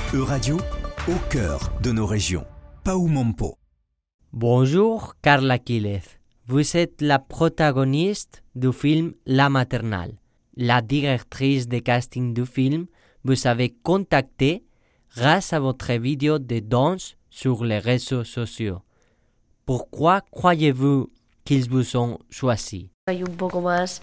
Euradio, au cœur de nos régions. Paumompo. Bonjour, Carla Quílez. Vous êtes la protagoniste du film La Maternelle. La directrice de casting du film vous avez contacté grâce à votre vidéo de danse sur les réseaux sociaux. Pourquoi croyez-vous qu'ils vous ont choisi? Hay un poco más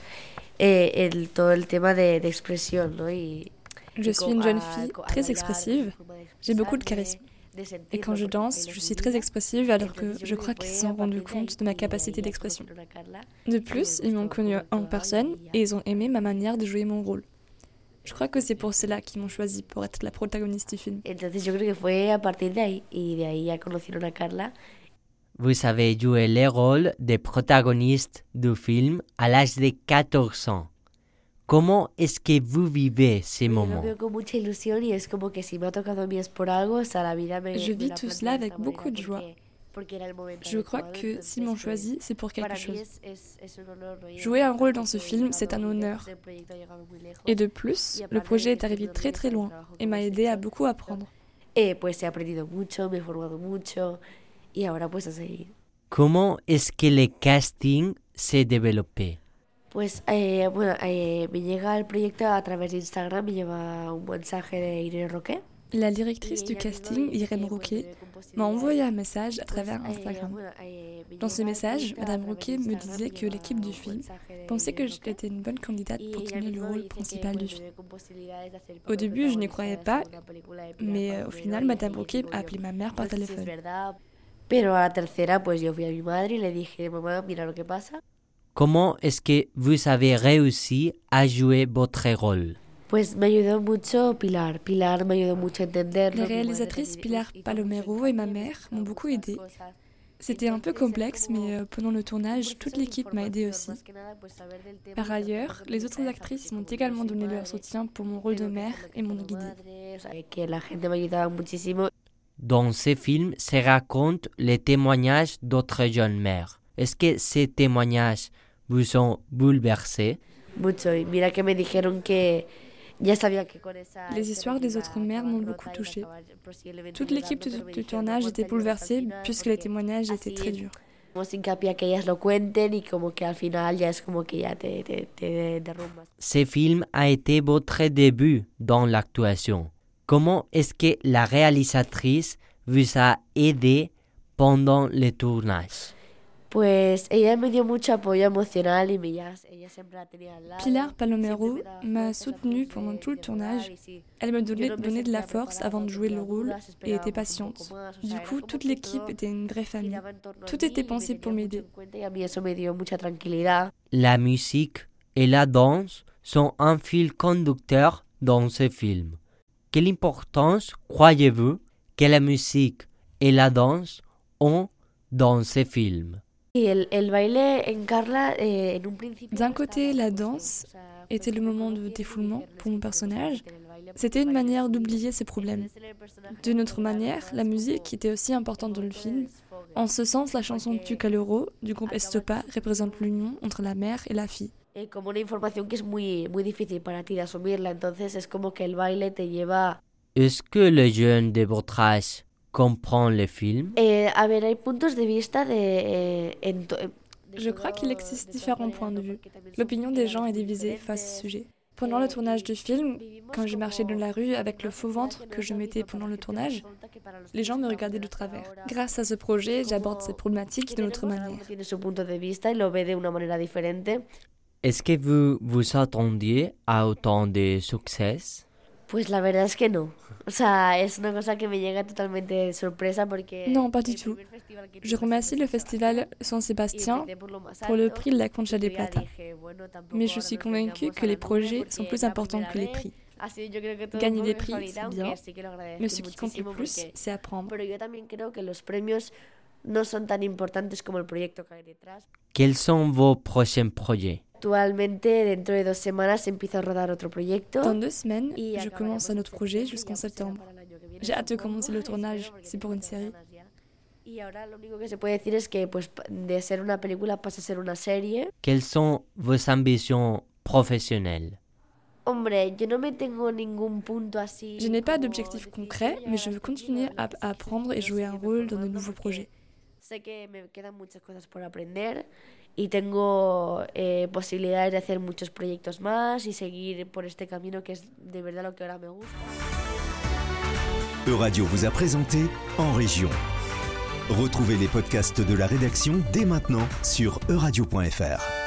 todo el tema de expresión, ¿no? Je suis une jeune fille très expressive, j'ai beaucoup de charisme. Et quand je danse, je suis très expressive alors que je crois qu'ils se sont rendus compte de ma capacité d'expression. De plus, ils m'ont connue en personne et ils ont aimé ma manière de jouer mon rôle. Je crois que c'est pour cela qu'ils m'ont choisi pour être la protagoniste du film. Entonces yo creo que fue a partir de ahí y de ahí ya conocieron a Carla. Vous avez joué le rôle de protagoniste du film à l'âge de 14 ans. Comment est-ce que vous vivez ces moments? Lo veo con mucha ilusión y es como que si me ha tocado a mí es por algo, o sea, la vida me Je vis la tout plantea cela de avec esta beaucoup de manera joie. porque era el momento Je crois adecuado, que entonces, s'ils m'ont choisi, c'est pour quelque para mí chose. es un honor, ¿no? Jouer un rôle dans ce film, c'est un honneur. El proyecto ha llegado muy lejos. Et de plus, le projet est arrivé très très loin et m'a aidé à beaucoup apprendre. Pues he aprendido mucho, me he formado mucho y ahora pues a seguir. Comment est-ce que le casting s'est développé? Pues me llega el proyecto a través de Instagram, me lleva un mensaje de Irene Roquet. La directrice du casting, Irène Roquet, m'a envoyé un message à travers Instagram. Dans ce message, Madame Roquet me disait que l'équipe du film pensait que j'étais une bonne candidate pour tenir le rôle principal du film. Au début, je n'y croyais pas, mais au final, Madame Roquet a appelé ma mère par téléphone. Pero a la tercera, pues yo fui a mi madre y le dije, mamá, mira lo que pasa. Comment est-ce que vous avez réussi à jouer votre rôle? Pues me ayudó mucho Pilar. Pilar me ayudó mucho a entender. Les réalisatrices Pilar Palomero et ma mère m'ont beaucoup aidée. C'était un peu complexe, mais pendant le tournage, toute l'équipe m'a aidée aussi. Par ailleurs, les autres actrices m'ont également donné leur soutien pour mon rôle de mère et m'ont guidée. Que la gente me ayudaba muchísimo. Dans ce film se racontent les témoignages d'autres jeunes mères. Est-ce que ces témoignages vous ont bouleversé? Mucho. Y mira que me dijeron que ya sabía que con esa. Les histoires des autres mères m'ont beaucoup touchée. Toute l'équipe du tournage était bouleversée puisque les témoignages étaient très durs. Hemos hincapié a que ellas lo cuenten y como que al final ya es como que ya te derrumbas. Ce film a été votre début dans l'actuation. Comment est-ce que la réalisatrice vous a aidé pendant le tournage? Pues ella me dio mucho apoyo emocional y ella siempre la tenía al lado. Pilar Palomero m'a soutenue pendant tout le tournage. Elle me donnait de la force avant de jouer le rôle et était patiente. Du coup, toute l'équipe était une vraie famille. Tout était pensé pour m'aider. Y a mí eso me dio mucha tranquilidad. La musique et la danse sont un fil conducteur dans ce film. Quelle importance croyez-vous que la musique et la danse ont dans ce film? Y el baile en Carla, en un principio. D'un côté, la danse était le moment de défoulement pour mon personnage. C'était une manière d'oublier ses problèmes. D'une autre manière, la musique était aussi importante dans le film. En ce sens, la chanson Tu Caloro du groupe Estopa représente l'union entre la mère et la fille. Como una información que es muy difícil para ti de asumirla, entonces es como que el baile te lleva. Est-ce que les jeunes de votre âge comprennent le film? A ver, hay puntos de vista Je crois qu'il existe différents points de vue. L'opinion des gens est divisée face à ce sujet. Pendant le tournage du film, quand je marchais dans la rue avec le faux ventre que je mettais pendant le tournage, les gens me regardaient de travers. Grâce à ce projet, j'aborde ces problématiques d'une autre manière. Tiene su punto de vista y lo ve de una manera diferente. Est-ce que vous vous attendiez à autant de succès? Pues la verdad es que no. O sea, es una cosa que me llega totalmente de sorpresa porque. Non, pas du tout. Je remercie le festival San Sébastien pour le prix de la Concha de Plata. Mais je suis convaincue que les projets sont plus importants que les prix. Gagner des prix, c'est bien, mais ce qui compte le plus, c'est apprendre. Pero yo también creo que los premios no son tan importantes como el proyecto que hay detrás. Quels sont vos prochains projets? Actualmente, dentro de 2 semanas, empiezo a rodar otro proyecto. Dans 2 semaines, je commence un autre projet jusqu'en septembre. J'ai hâte de commencer le tournage, c'est pour une série. Y ahora lo único que se puede decir es que pues, de ser una película pasa a ser una serie. Quelles sont vos ambitions professionnelles? Je n'ai pas d'objectif concret, mais je veux continuer à apprendre et jouer un rôle dans de nouveaux projets. Sé que me quedan muchas cosas por aprender y tengo posibilidades de hacer muchos proyectos más y seguir por este camino que es de verdad lo que ahora me gusta. Euradio vous a présenté En Région. Retrouvez les podcasts de la rédaction dès maintenant sur euradio.fr.